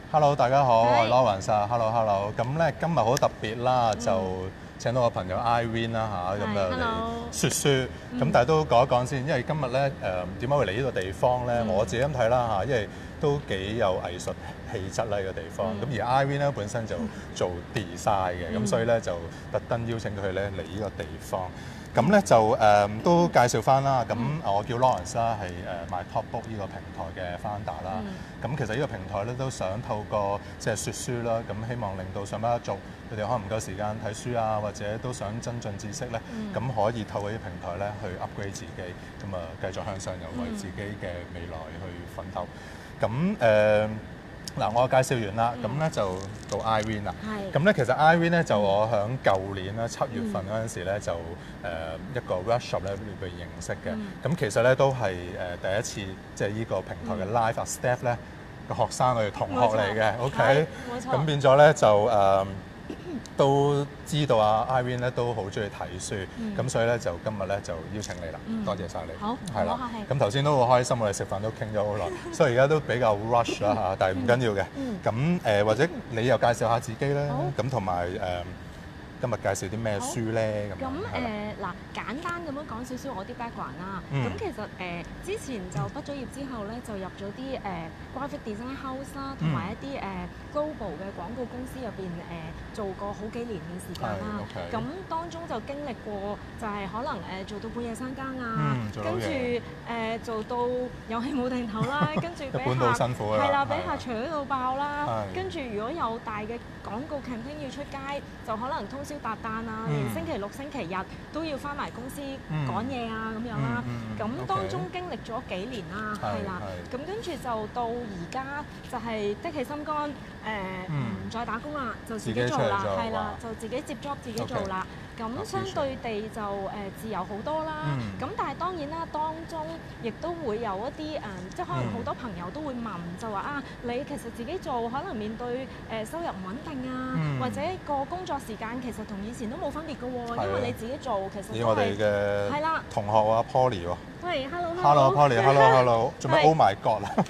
Hello，大家好，我係 Lawrence 啊。Hello。咁咧今日好特別啦，就請到我朋友 Irene 啦嚇，咁就嚟説書。咁但係都講一講先，因為今日咧點解會嚟呢個地方咧？我自己咁睇啦嚇，因為都幾有藝術氣質啦呢個地方。咁而 Irene 咧本身就做 design 嘅，咁所以咧就特登邀請佢咧嚟呢個地方。咁咧就都介紹翻啦。咁我叫 Lawrence 啦，係MyTalkBook 呢個平台嘅 founder 啦。咁其實呢個平台咧都想透過即係説書啦，咁希望令到上班一族佢哋可能唔夠時間睇書啊，或者都想增進知識咧，咁可以透過呢個平台咧去 upgrade 自己，咁啊繼續向上，又為自己嘅未來去奮鬥。咁嗱，我介紹完啦，咁咧就到 Irene 啦。咁咧其實 Irene 咧就我響舊年啦7月份嗰陣時咧就一個 workshop 咧被認識嘅。咁其實咧都係第一次即係呢個平台嘅 live staff 咧個學生我哋同學嚟嘅。OK，咁變咗咧就都知道啊 Irene 咧都好中意睇書，咁所以咧就今日咧就邀請你啦，多謝晒你。 好， 係啦。咁頭先都好開心，我哋食飯都傾咗好耐，所以而家都比較 rush 啦嚇，但係唔緊要嘅。咁或者你又介紹下自己咧，咁同埋今日介紹啲咩書咧？ 咁嗱，簡單咁樣講少少我啲 background 啦。咁其實之前就畢咗業之後咧，就入咗啲graphic design house 啦，同埋一啲global 嘅廣告公司入邊做過好幾年嘅時間啦。咁當中就經歷過就係可能做到半夜三更啊，跟住做到有氣冇定頭啦，跟住俾客係啦，俾客搶到爆啦。跟住如果有大嘅廣告 campaign 要出街，就可能通宵達旦啊，連星期六、星期日都要翻埋公司趕嘢啊咁樣啦。咁當中經歷咗幾年啦，係啦。咁跟住就到而家就係的起心肝，唔再打工啦，就自己做啦，係啦，就自己接 job 自己做啦。咁相對地就自由好多啦。咁但係當然啦，當中亦都會有一啲即係可能好多朋友都會問，就話啊，你其實自己做可能面對收入唔穩定啊，或者個工作時間其實同以前都冇分別嘅喎，因為你自己做其實都係。以我哋嘅係啦同學啊 Polly 喎。喂 ，hello Polly，hello，做咩 Oh my God 啦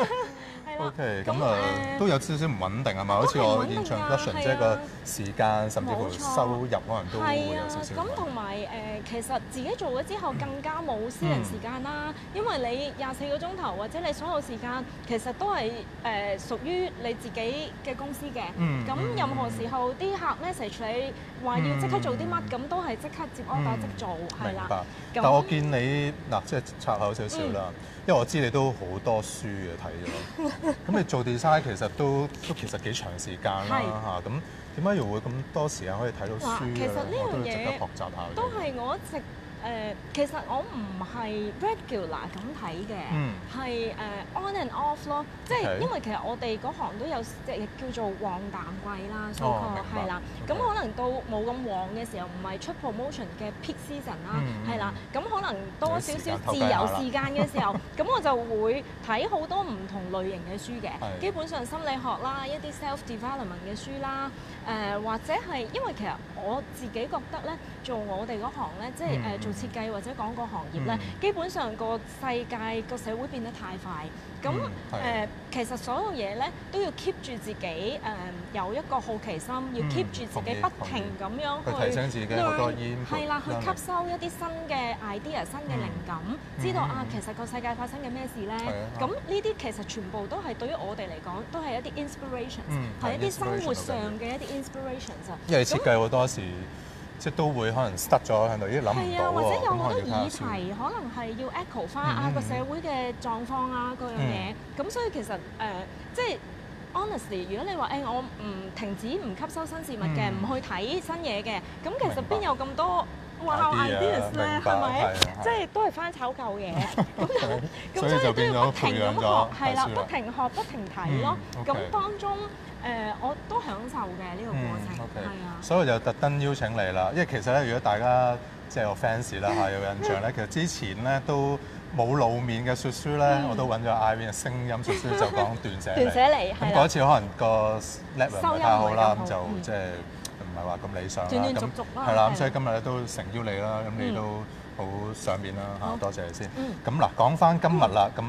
？OK， 咁都有少少唔穩定係嘛？好似我現場 production 即係個時間甚至乎收入可能都會有少少。 咁同埋其實自己做咗之後更加冇私人時間啦，因為你24個鐘頭或者你所有時間其實都係屬於你自己嘅公司嘅。咁任何時候啲客 message 你話要即刻做啲乜，咁都係即刻接 order 即做，係啦。 但我見你嗱，即係插口少少啦，因為我知你都好多書嘅睇咗。咁你做 design 其實都其實幾長時間啦嚇，咁點解又會咁多時間可以睇到書嘅咧？我都要值得學習下。 都係我一直其實我唔係 regular 咁睇嘅，係on and off 咯。即係因為其實我哋嗰行都有即係叫做旺淡季啦，所以係啦。咁可能到冇咁旺嘅時候，唔係出 promotion 嘅 peak season 啦，係啦。咁可能多少少自由時間嘅時候，咁我就會睇好多唔同類型嘅書嘅。基本上心理學啦，一啲 self development 嘅書啦，或者係因為其實我自己覺得咧，做我哋嗰行咧，即係做設計或者廣告行業咧，基本上個世界個社會變得太快，咁其實所有嘢咧都要 keep 住自己有一個好奇心，要 keep 住自己不停咁樣去提升自己好多係啦，去吸收一啲新嘅 idea、新嘅靈感，知道啊其實個世界發生緊咩事咧。咁呢啲其實全部都係對於我哋嚟講，都係一啲 inspirations，係一啲生活上嘅一啲 inspirations 啊。 因為設計好多時。即都會可能 stuck 咗喺度，已經諗唔到喎。 或者有好多議題，可能係要 echo 翻個社會嘅狀況啊，嗰樣嘢。咁所以其實即係 honestly， 如果你話我唔停止唔吸收新事物嘅，唔去睇新嘢嘅，咁其實邊有咁多ideas 咧？係咪？即係都係翻炒舊嘢。咁所以都要不停咁學，係啦，不停學不停睇咯。咁當中我都享受嘅呢個過程，係啊。 所以就特登邀請你啦，因為其實咧，如果大家即係我 fans 啦嚇有印象咧，其實之前咧都冇露面嘅説書咧，我都揾咗 Irene 嘅聲音説書，就講斷捨離。咁嗰次可能個 level 唔係太好啦，咁就即係唔係話咁理想啦。 斷斷續續啦。 係啦，咁所以今日咧都誠邀你啦，咁你都好上面啦嚇，多謝你先。咁嗱，講翻今日啦，咁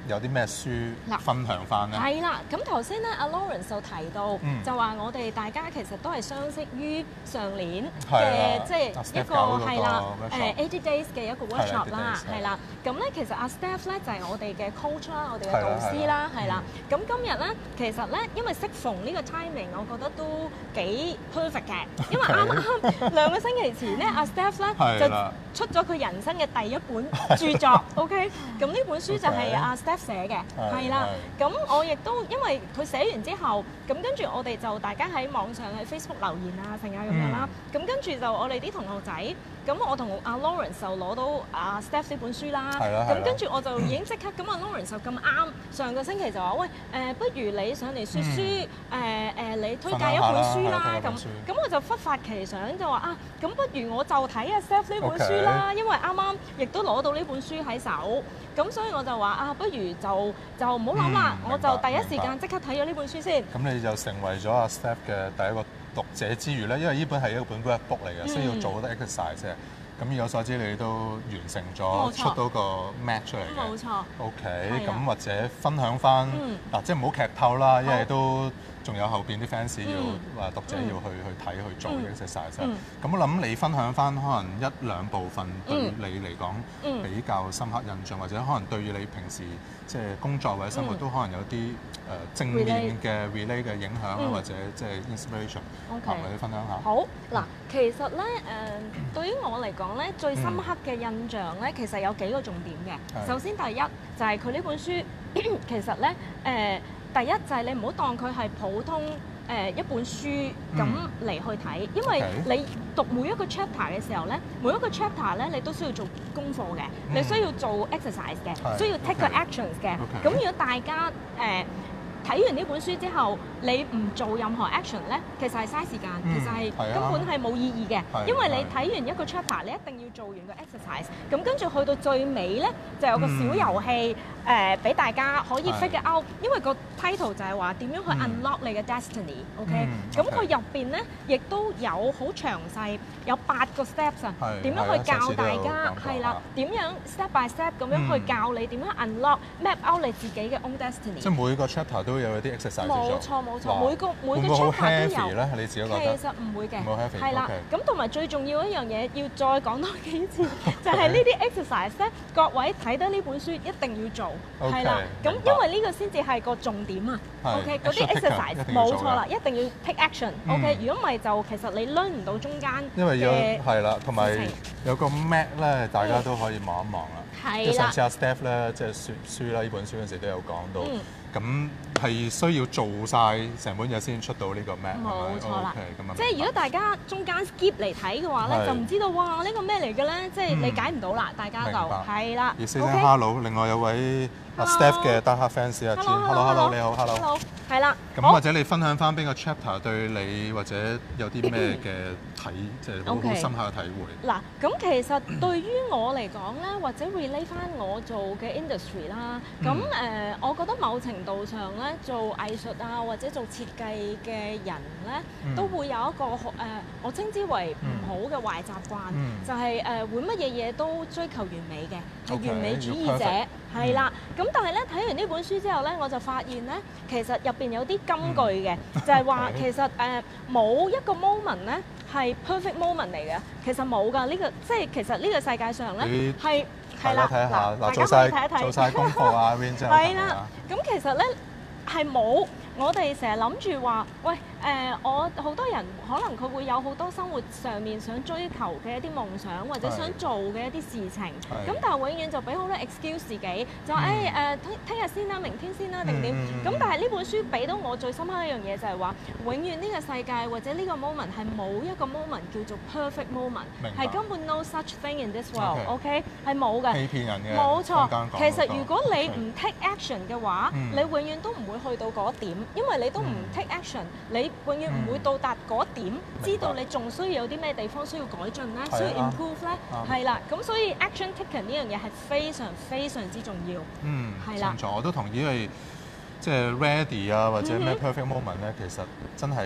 有啲咩書分享翻咧？ 係啦，咁頭先咧，阿 Lawrence 就提到，就話我哋大家其實都係相識於上年嘅，即係一個係啦，80 days 嘅一個 workshop 啦，係啦。咁咧其實阿 Steph 咧就係我哋嘅 coach 啦，我哋嘅導師啦，係啦。咁今日咧其實咧，因為適逢呢個 timing，我覺得都幾 perfect 嘅，因為啱啱2個星期前咧，阿 Steph 咧就出咗佢人生嘅第一本著作 ，OK。咁呢本書就係阿 Steph 寫嘅，係啦。咁我亦都因為佢寫完之後，咁跟住我哋就大家喺網上喺 Facebook 留言啊，成啊咁樣啦。咁跟住就我哋啲同學仔，咁我同阿 Lawrence 就攞到阿 Steph 呢本書啦。咁跟住我就已經即刻咁阿 Lawrence 就咁啱上個星期就話：喂，不如你上嚟説書，你推介一本書啦。咁我就忽發奇想就話啊，咁不如我就睇阿 Steph 呢本書啦，因為啱啱亦都攞到呢本書喺手。咁所以我就話啊，不如就唔好諗啦，我就第一時間即刻睇咗呢本書先。 咁你就成為咗阿 Steph 嘅第一個讀者之餘咧，因為呢本係一本 workbook 嚟嘅，需要做好多 exercise 嘅。咁以我所知，你都完成咗出到個 map 出嚟嘅。冇錯。OK，咁或者分享翻嗱，即係唔好劇透啦，因為都仲有後邊啲 fans 要讀者要去睇去做 exercise。咁我諗你分享翻可能1-2部分對你嚟講比較深刻印象，或者可能對於你平時即係工作或者生活都可能有啲正面嘅 relay 嘅影響啊，或者即係 inspiration， 或者分享下。 好嗱，其實咧對於我嚟講咧，最深刻嘅印象咧，其實有幾個重點嘅。首先第一就係佢呢本書，其實咧第一就係你唔好當佢係普通一本書咁嚟去睇，因為你讀每一個 chapter 嘅時候咧，每一個 chapter 咧你都需要做功課嘅，你需要做 exercise 嘅，需要 take 個 actions 嘅。咁如果大家睇完呢本書之後，你唔做任何 action 咧，其實係嘥時間，其實係根本係冇意義嘅。因為你睇完一個 chapter，你一定要做完個 exercise。咁跟住去到最尾咧，就有個小遊戲俾大家可以 figure out。因為個 title 就係話點樣去 unlock 你嘅 destiny。OK，咁佢入邊咧亦都有好詳細，有8個 steps 啊，點樣去教大家係啦，點樣 step by step 咁樣去教你點樣 unlock map out 你自己嘅 own destiny。 即係每個 chapter 都有啲 exercise 做。 冇錯，每個 chapter 都有。 你自己覺得？ 其實唔會嘅。 冇 heavy。係啦， 咁同埋最重要一樣嘢，要再講多幾次，就係呢啲 exercise 咧，各位睇得呢本書一定要做。係啦，咁因為呢個先至係個重點啊。OK，嗰啲 exercise 冇錯啦，一定要 take action。OK，如果唔係就其實你 learn 唔到中間因為係啦，同埋有個 map 咧，大家都可以望一望啦。係啦。上次阿 Steph 咧，即係説書啦，呢本書嗰陣時都有講到。咁係需要做晒成本嘢先出到呢個 map。 冇錯啦。即係如果大家中間 skip 嚟睇嘅話咧，就唔知道哇呢個咩嚟嘅咧，即係理解唔到啦，大家就係啦。 而 say hello， 另外有位阿 Steph 嘅 Die Hard fans 啊 ，Hello， 你好 ，Hello。係啦。咁或者你分享翻邊個 chapter 對你或者有啲咩嘅即係好深刻嘅體會？ 嗱，咁其實對於我嚟講咧，或者 relate 翻我做嘅 industry 啦，咁我覺得某程度上咧，做藝術啊或者做設計嘅人咧，都會有一個我稱之為唔好嘅壞習慣，就係會乜嘢嘢都追求完美嘅，係完美主義者。係啦，咁但係咧睇完呢本書之後咧，我就發現咧，其實入邊有啲金句嘅，就係話其實冇一個 moment 咧係 perfect moment 嚟嘅，其實冇㗎。呢個即係其實呢個世界上咧係啦， 睇下嗱，做晒功課啊 ，Win 之後係啦， 咁其實咧係冇。我哋成日諗住話，喂我好多人可能佢會有好多生活上面想追求嘅一啲夢想，或者想做嘅一啲事情。咁但係永遠就俾好多 excuse 自己，就話聽日先啦，明天先啦，定點。咁但係呢本書俾到我最深刻一樣嘢就係話，永遠呢個世界或者呢個 moment 係冇一個 moment 叫做 perfect moment，係根本 no such thing in this world。OK， 係冇嘅。 欺騙人嘅。 冇錯。其實如果你唔 take action 嘅話，你永遠都唔會去到嗰點。因為你都唔 take action，你永遠唔會到達嗰點，知道你仲需要有啲咩地方需要改進咧，需要 improve 咧，係啦，咁所以 action taken 呢樣嘢係非常非常之重要。係啦， 冇錯，我都同意，因為即係 ready 啊或者咩 perfect moment 咧，其實真係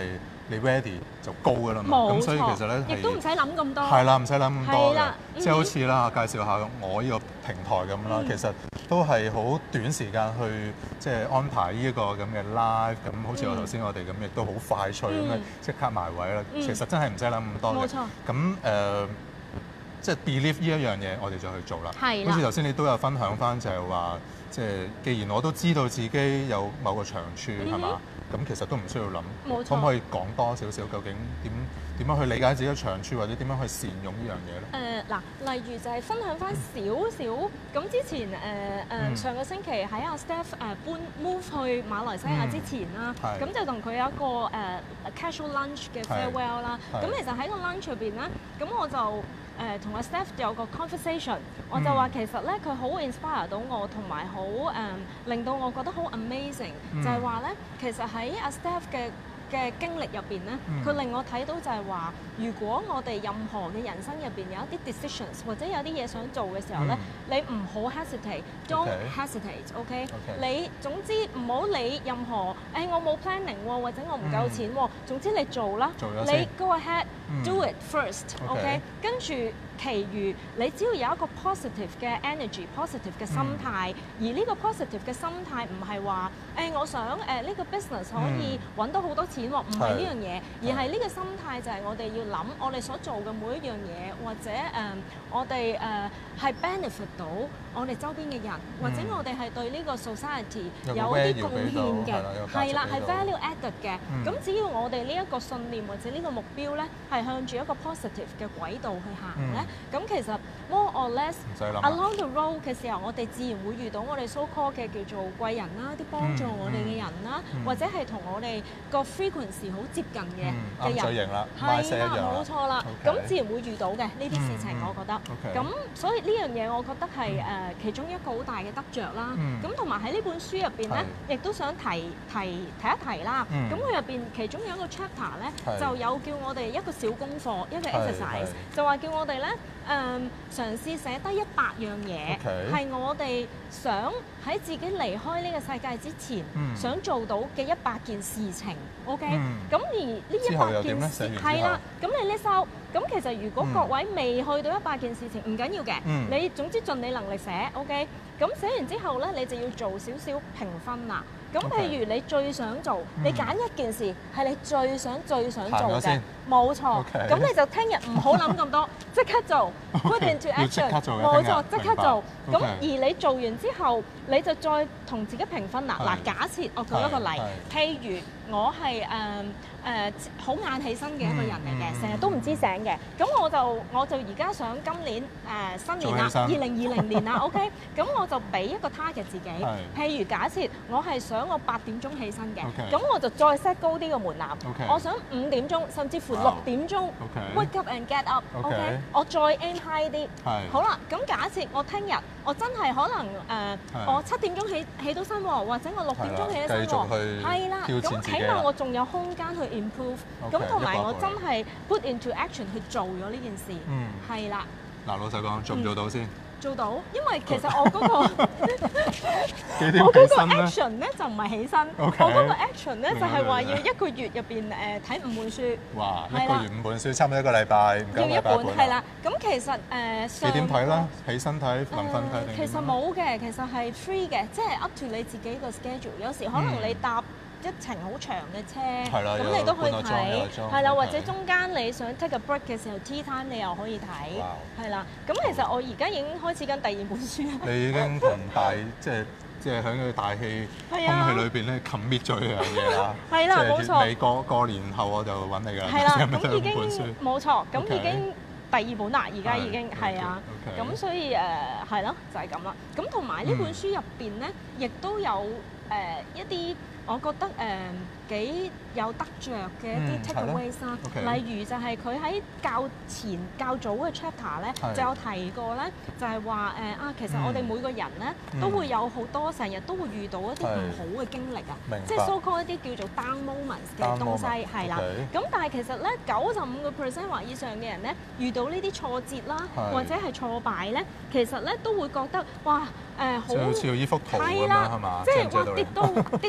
你 ready 就高㗎啦嘛。咁所以其實咧亦都唔使諗咁多。 係啦，唔使諗咁多嘅。即係好似啦，介紹下我呢個平台咁啦，其實都係好短時間去即係安排呢一個咁嘅 live，咁好似我頭先我哋咁，亦都好快脆咁樣即刻埋位啦。其實真係唔使諗咁多嘅。 冇錯。 咁即係 believe 呢一樣嘢，我哋就去做啦。係啦。好似頭先你都有分享翻，就係話，即係既然我都知道自己有某個長處係嘛，咁其實都唔需要諗。冇錯。可唔可以講多少少究竟點樣去理解自己嘅長處，或者點樣去善用呢樣嘢咧？ 嗱，例如就係分享翻少少。咁之前上個星期喺阿 Steph 搬 move 去馬來西亞之前啦，咁就同佢有一個casual lunch 嘅 farewell 啦。咁其實喺個 lunch 入邊咧，咁我就同阿 Steph 有個 conversation， 我就話其實咧佢好 inspire 到我，同埋好令到我覺得好 amazing，就係話咧其實喺阿 Steph 嘅經歷入邊咧，佢令我睇到就係話，如果我哋任何嘅人生入邊有一啲 decisions 或者有啲嘢想做嘅時候咧，你唔好 hesitate，don't hesitate，OK？你總之唔好理任何我冇 planning 喎，或者我唔夠錢喎，總之你做啦，你 go ahead，do it first，OK？跟住其餘你只要有一個 positive 嘅 energy、positive 嘅心態，而呢個 positive 嘅心態唔係話我想呢個 business 可以揾到好多錢喎，唔係呢樣嘢，而係呢個心態就係我哋要諗我哋所做嘅每一樣嘢，或者我哋係 benefit 到我哋周邊嘅人，或者我哋係對呢個 society 有啲貢獻嘅，係啦，係 value added 嘅。咁只要我哋呢一個信念或者呢個目標咧，係向住一個 positive 嘅軌道去行咧，咁其實 more or less along the road 嘅時候，我哋自然會遇到我哋 so call 嘅叫做貴人啦，啲幫助我哋嘅人啦，或者係同我哋個 frequency 好接近嘅人，係啦，冇錯啦。咁自然會遇到嘅呢啲事情，我覺得。咁所以呢樣嘢，我覺得係其中一個好大嘅得着啦。咁同埋喺呢本書入邊咧，亦都想提一提啦。咁佢入邊其中有一個 chapter 咧，就有叫我哋一個小功課，一個 exercise，就話叫我哋咧嘗試寫低100樣嘢，係我哋想喺自己離開呢個世界之前想做到嘅100件事情。OK，咁而呢100件事係啦，咁你 list out。咁其實如果各位未去到100件事情，唔緊要嘅，你總之盡你能力寫。OK，咁寫完之後咧，你就要做少少評分啦。咁譬如你最想做，你揀一件事係你最想做嘅，冇錯。咁你就聽日唔好諗咁多，即刻做 ，put into action，冇錯，即刻做。咁而你做完之後，你就再同自己評分啦。嗱，假設我舉一個例，譬如我係好晏起身嘅一個人嚟嘅，成日都唔知醒嘅。咁我就而家想今年新年啦，2020年啦 ，OK。咁我就俾一個 target 自己，譬如假設我係想我8點鐘起身嘅，咁我就再 set 高啲個門檻。我想5點鐘，甚至乎6點鐘 wake up and get up，OK。我再 aim high 啲。好啦，咁假設我聽日我真係可能我7點鐘起到身喎，或者我6點鐘起到身喎，係啦，咁起碼我仲有空間去 improve，咁同埋我真係 put into action 去做咗呢件事，係啦。 嗱，老實講，做唔做到先？ 做到，因為其實我嗰個 action 咧就唔係起身，我嗰個 action 咧就係話要1個月入邊睇5本書。 哇！1個月5本書，差唔多1個禮拜，唔夠禮拜半。要1本係啦，咁其實幾點睇啦？起身睇、臨瞓睇定？ 其實冇嘅，其實係 free 嘅，即係 up to 你自己個 schedule。有時可能你搭一程好長嘅車，咁你都可以睇，係啦，或者中間你想 take a break 嘅時候 tea time 你又可以睇，係啦。咁其實我而家已經開始緊第2本書啦。你已經同即係喺佢大氣空氣裏邊咧 commit 咗呢樣嘢啦。係啦，冇錯。你過年後我就揾你㗎啦。 係啦，咁已經冇錯，咁已經第2本啦，而家已經係啊。咁所以係咯，就係咁啦。咁同埋呢本書入邊咧，亦都有一啲我覺得幾有得着嘅一啲 takeaways 啦，例如就係佢喺較早嘅 chapter 咧，就有提過咧，就係話其實我哋每個人咧都會有好多成日都會遇到一啲唔好嘅經歷啊，即係 so called 一啲叫做 down moments 嘅東西係啦。咁但係其實咧95% 或以上嘅人咧遇到呢啲挫折啦，或者係挫敗咧，其實咧都會覺得哇好似呢幅圖咁樣係嘛？ 即係哇跌到落谷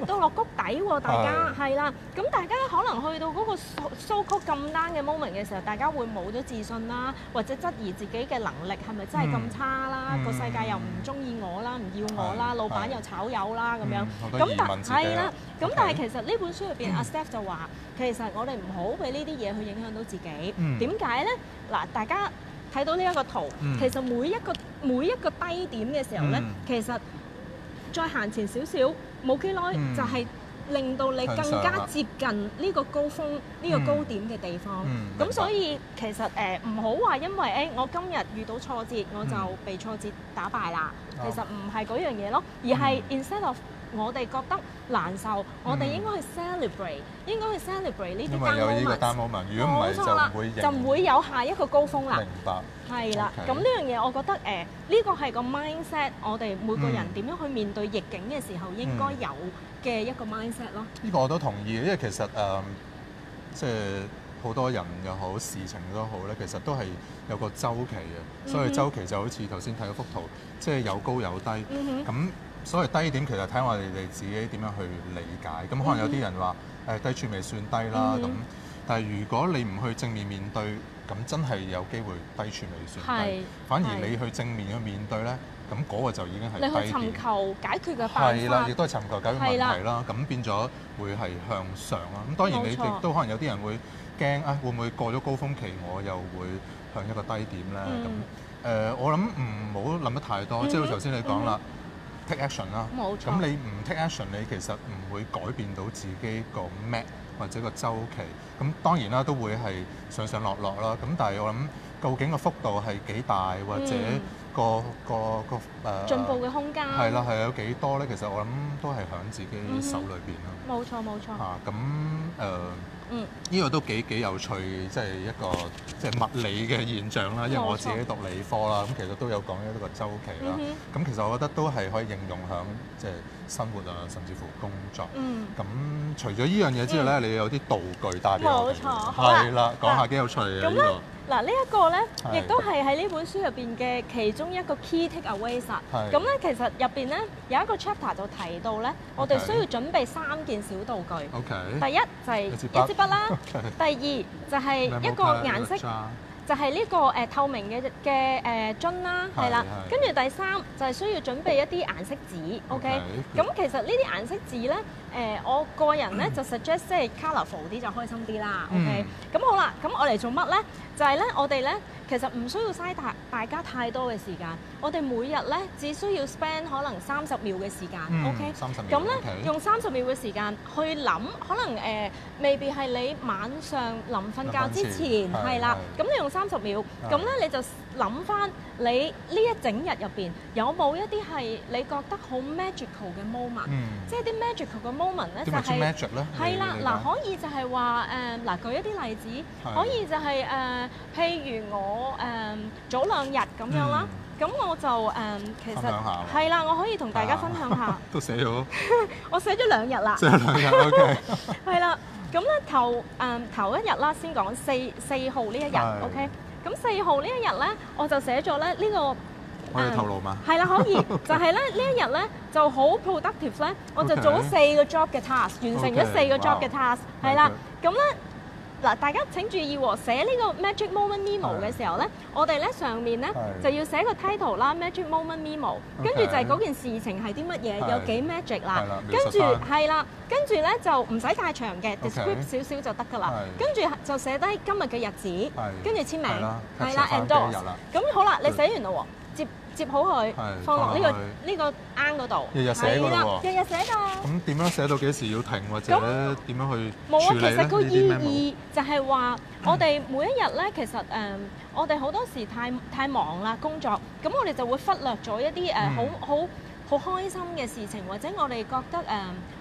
底喎，大家係啦。咁大家可能去到嗰個 so called 咁 down 嘅 moment 嘅時候，大家會冇咗自信啦，或者質疑自己嘅能力係咪真係咁差啦？個世界又唔中意我啦，唔要我啦，老闆又炒魷啦咁樣。咁係啦，咁但係其實呢本書入邊，阿 Steph 就話，其實我哋唔好俾呢啲嘢去影響到自己。點解咧？嗱，大家睇到呢一個圖，其實每一個低點嘅時候咧，其實再行前少少，冇幾耐就係令到你更加接近呢個高峰、呢個高點嘅地方。咁所以其實唔好話因為我今日遇到挫折，我就被挫折打敗啦。其實唔係嗰樣嘢咯，而係 instead of 我哋覺得難受，我哋應該去 celebrate， 應該去 celebrate 呢啲 down moment。因為有呢個 down moment， 如果唔係就唔會有下一個高峰啦。明白。係啦，咁呢樣嘢我覺得呢個係個 mindset， 我哋每個人點樣去面對逆境嘅時候應該有嘅一個 mindset 咯。呢個我都同意，因為其實即係好多人又好，事情都好咧，其實都係有個週期嘅。所以週期就好似頭先睇嗰幅圖，即係有高有低。咁所謂低點其實睇我哋自己點樣去理解。咁可能有啲人話低處未算低啦，咁但係如果你唔去正面面對，咁真係有機會低處未算低。反而你去正面去面對咧，咁嗰個就已經係低點。你去尋求解決嘅辦法。係啦，亦都係尋求解決問題啦。咁變咗會係向上啦。咁當然你亦都可能有啲人會驚會唔會過咗高峰期，我又會向一個低點咧？咁我諗唔好諗得太多。即係好似頭先你講啦。take action 啦，冇錯。咁你唔 take action， 你其實唔會改變到自己個 map 或者個週期。咁當然啦，都會係上上落落啦。咁但係我諗，究竟個幅度係幾大，或者個進步嘅空間係啦，係有幾多咧？其實我諗都係喺自己手裏邊啦。冇錯，冇錯。咁呢個都幾有趣，即係一個即係物理嘅現象啦。因為我自己讀理科啦，咁其實都有講呢個週期啦。咁其實我覺得都係可以應用喺即係生活啊，甚至乎工作。咁除咗呢樣嘢之外咧，你有啲道具帶俾我哋。冇錯，係啦，講下幾有趣嘅呢個。嗱，呢一個咧，亦都係喺呢本書入邊嘅其中一個 key takeaways。咁咧，其實入邊咧有一個 chapter 就提到咧，我哋需要準備3件小道具。第一就係一支筆啦，第二就係一個顏色，就係呢個透明嘅樽啦，係啦。跟住第三就係需要準備一啲顏色紙。OK，咁其實呢啲顏色紙咧，我個人咧就 suggest 即係 colourful 啲就開心啲啦。OK，咁好啦，咁我嚟做乜咧？就係咧，我哋咧其實唔需要嘥大家太多嘅時間。我哋每日咧只需要 spend 可能30秒嘅時間。OK， 30秒。咁咧用30秒嘅時間去諗，可能未必係你晚上臨瞓覺之前係啦。咁你用30秒，咁咧你就諗翻你呢一整日入邊有冇一啲係你覺得好 magical 嘅 moment，即係啲 magical 嘅 moment 咧就係係啦，嗱可以就係話嗱舉一啲例子，可以就係譬如我早2日咁樣啦，咁我就其實係啦，我可以同大家分享下。都寫咗，我寫咗2日啦。寫咗2日 ，OK。係啦，咁咧頭1日啦，先講4號呢一日 ，OK。咁4號呢一日咧，我就寫咗咧呢個。可以透露嗎？係啦，可以。就係咧呢一日咧就好 productive 咧，我就做咗4個 job 嘅 task， 完成咗4個 job 嘅 task， 係啦。咁咧嗱，大家請注意喎，寫呢個 magic moment memo 嘅時候咧，我哋咧上面咧就要寫個 title 啦 ，magic moment memo， 跟住就係嗰件事情係啲乜嘢，有幾 magic 啦，跟住係啦，跟住咧就唔使太長嘅 describe 少少就得㗎啦，跟住就寫低今日嘅日子，跟住簽名，係啦 endorse， 咁好啦，你寫完啦喎。接好佢，放落呢個罌嗰度。日日寫㗎喎。日日寫㗎。咁點樣寫到幾時要停，或者點樣去處理咧？冇啊，其實個意義就係話，我哋每一日咧，其實我哋好多時太忙啦工作，咁我哋就會忽略咗一啲好開心嘅事情，或者我哋覺得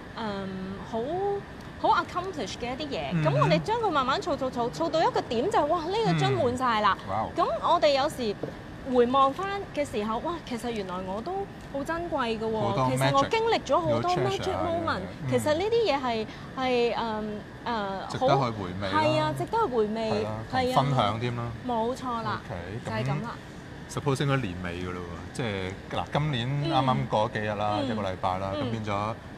好 accomplish 嘅一啲嘢。咁我哋將佢慢慢儲到一個點，就係哇呢個樽滿晒啦。咁我哋有時回望翻嘅時候，哇！其實原來我都好珍貴嘅喎。其實我經歷咗好多 magic moment。其實呢啲嘢係值得去回味。係啊，值得去回味。係啊，分享添啦。冇錯啦，就係咁啦。Suppose 應該年尾嘅咯喎，即係嗱，今年啱啱過咗幾日啦，1個禮拜啦，咁變咗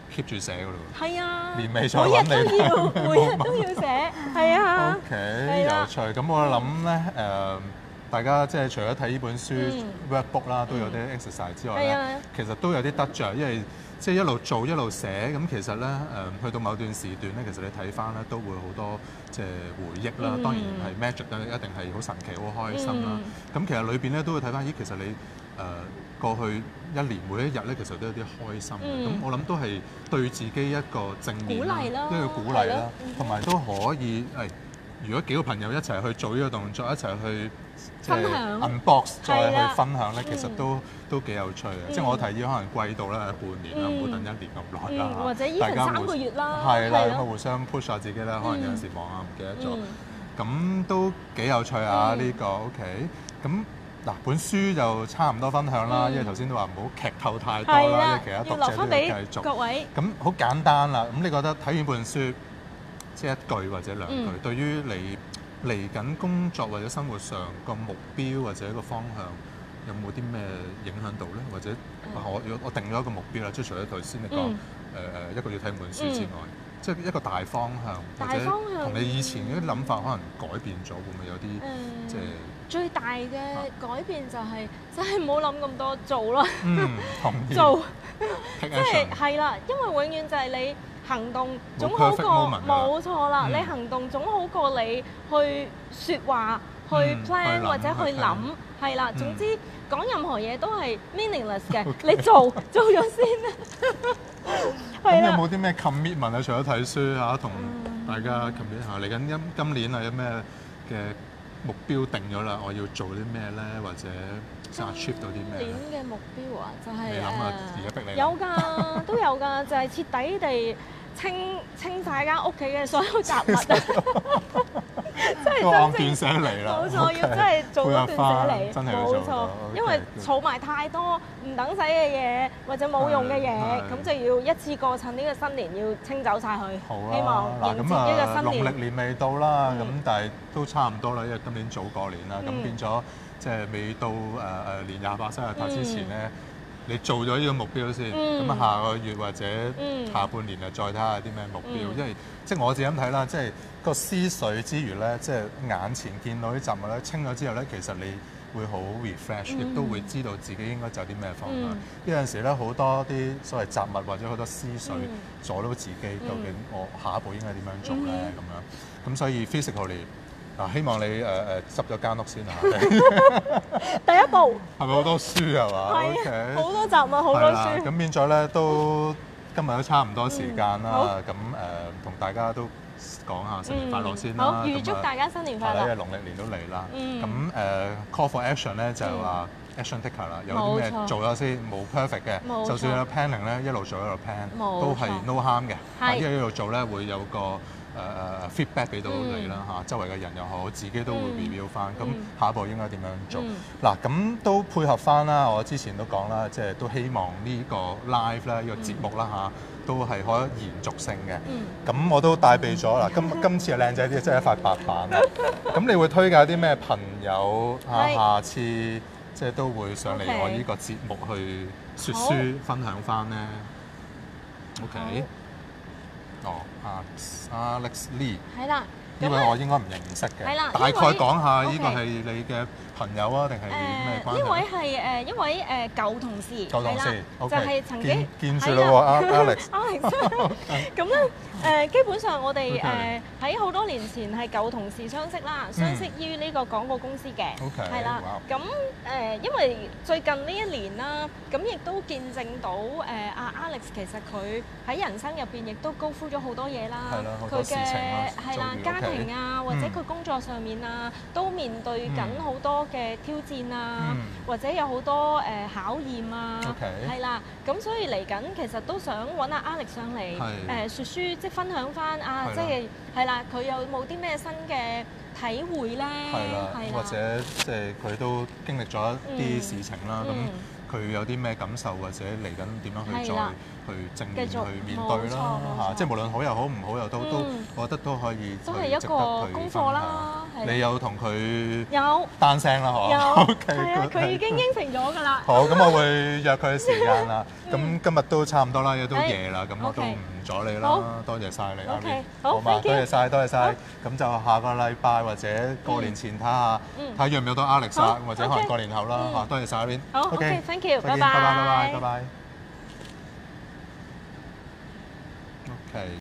keep 住寫㗎咯喎。 係啊， 年尾再揾你每日都要寫，係啊。 OK，有趣。咁我諗咧大家即係除咗睇呢本書 workbook 啦，都有啲 exercise 之外咧，其實都有啲得着，因為即係一路做一路寫，咁其實咧去到某段時段咧，其實你睇翻咧都會好多即係回憶啦。當然係 magic 啦，一定係好神奇、好開心啦。咁其實裏邊咧都會睇翻，咦，其實你過去一年每一日咧，其實都有啲開心嘅。咁我諗都係對自己一個正面啦，一個鼓勵啦，同埋都可以如果幾個朋友一齊去做呢個動作，一齊去即係 unbox 再去分享咧，其實都幾有趣嘅。即係我提議可能季度咧半年啦，唔好等一年咁耐啦。 或者依份3個月啦， 係啦，咁啊互相 push 下自己啦。可能有陣時忙啊，唔記得咗。咁都幾有趣啊！呢個 OK。咁嗱，本書就差唔多分享啦，因為頭先都話唔好劇透太多啦，因為其他讀者都要繼續。 各位。 咁好簡單啦。咁你覺得睇完本書，即係一句或者兩句，對於你嚟緊工作或者生活上個目標或者個方向，有冇啲咩影響到咧？或者我定咗一個目標啦，即係除咗頭先你講一個月睇本書之外，即係一個大方向，或者同你以前嗰啲諗法可能改變咗，會唔會有啲即係最大嘅改變就係真係唔好諗咁多，做咯。 同意。 做，即係啦，因為永遠就係你行動總好過冇錯啦，你行動總好過你去説話、去 plan 或者去諗，係啦。總之講任何嘢都係 meaningless 嘅，你做咗先啦。 咁有冇啲咩 commitment 啊？除咗睇書嚇，同大家 commit 下嚟緊今年啊，有咩嘅目標定咗啦？我要做啲咩咧？或者想 achieve 到啲咩？ 今年嘅目標啊，就係你諗下，而家逼你。 有㗎，都有㗎，就係徹底地清曬間屋企嘅所有雜物啊！真係按斷捨離啦， 冇錯，要真係做到斷捨離， 真係要做到。 冇錯，因為儲埋太多唔等使嘅嘢或者冇用嘅嘢，咁就要一次過趁呢個新年要清走晒佢。 好啦， 希望迎接呢個新年。 農曆年未到啦，咁但係都差唔多啦，因為今年早過年啦，咁變咗即係未到年28生日塔之前咧。你做咗呢個目標先，咁下個月或者下半年就再睇下啲咩目標，因為即係我自己咁睇啦，即係個思緒之餘咧，即係眼前見到啲雜物咧清咗之後咧，其實你會好 refresh，亦都會知道自己應該走啲咩方向。有陣時咧好多啲所謂雜物或者好多思緒阻到自己，究竟我下一步應該點樣做咧咁樣。咁所以 physically。嗱，希望你執咗間屋先啊！ 第一步係咪好多書係嘛？ 係好多雜物，好多書。 咁變咗咧，都今日都差唔多時間啦。咁同大家都講下新年快樂先啦。 好，預祝大家新年快樂。 因為農曆年都嚟啦。咁call for action 咧就係話 action taker 啦，有啲咩做咗先，冇 perfect 嘅。就算有 planning 咧，一路做一路 plan，都係 no harm 嘅。因為一路做咧會有個feedback 俾到你啦嚇，周圍嘅人又好，自己都會 review 翻。咁下一步應該點樣做？嗱，咁都配合翻啦。我之前都講啦，即係都希望呢個 live 咧，呢個節目啦嚇，都係可以延續性嘅。咁我都帶備咗啦。今次係靚仔啲，即係一塊白板。咁你會推介啲咩朋友下次即係都會上嚟我呢個節目去説書分享翻咧 ？OK。Alex Lee 係啦，呢位我應該唔認識嘅，係啦，大概講下呢個係你嘅朋友啊，定係咩關係？ 呢位係一位舊同事， 舊同事， 就係曾經見住啦喎，Alex。 咁咧基本上我哋喺好多年前係舊同事相識啦，相識於呢個廣告公司嘅，係啦。咁因為最近呢一年啦，咁亦都見證到Alex 其實佢喺人生入邊亦都高呼咗好多嘢啦，佢嘅係啦家庭啊，或者佢工作上面啊，都面對緊好多嘅挑戰啊，或者有好多考驗啊，係啦。咁所以嚟緊其實都想揾阿 Alex 上嚟説書，即係分享翻即係啦，佢有冇啲咩新嘅體會咧？ 係啦，或者即係佢都經歷咗一啲事情啦，咁佢有啲咩感受，或者嚟緊點樣去再去正面去面對啦嚇，即係無論好又好，唔好又都，我覺得都可以。 都係一個功課啦， 你有同佢有單聲啦，嗬？ 有 OK， 係啊，佢已經應承咗㗎啦。 好，咁我會約佢時間啦。咁今日都差唔多啦，亦都夜啦，咁我都 OK 唔阻你好啦。多謝晒你 OK， ，Irene。 好嘛， thank you 多謝晒，多謝晒好。 咁就下個禮拜或者過年前睇下，睇下約唔約到 Alex 啊好， 或者可能 OK 過年後啦。嚇，多謝晒 Irene。 好 OK，thank you， 再見， 拜拜拜拜，拜拜，拜拜。OK。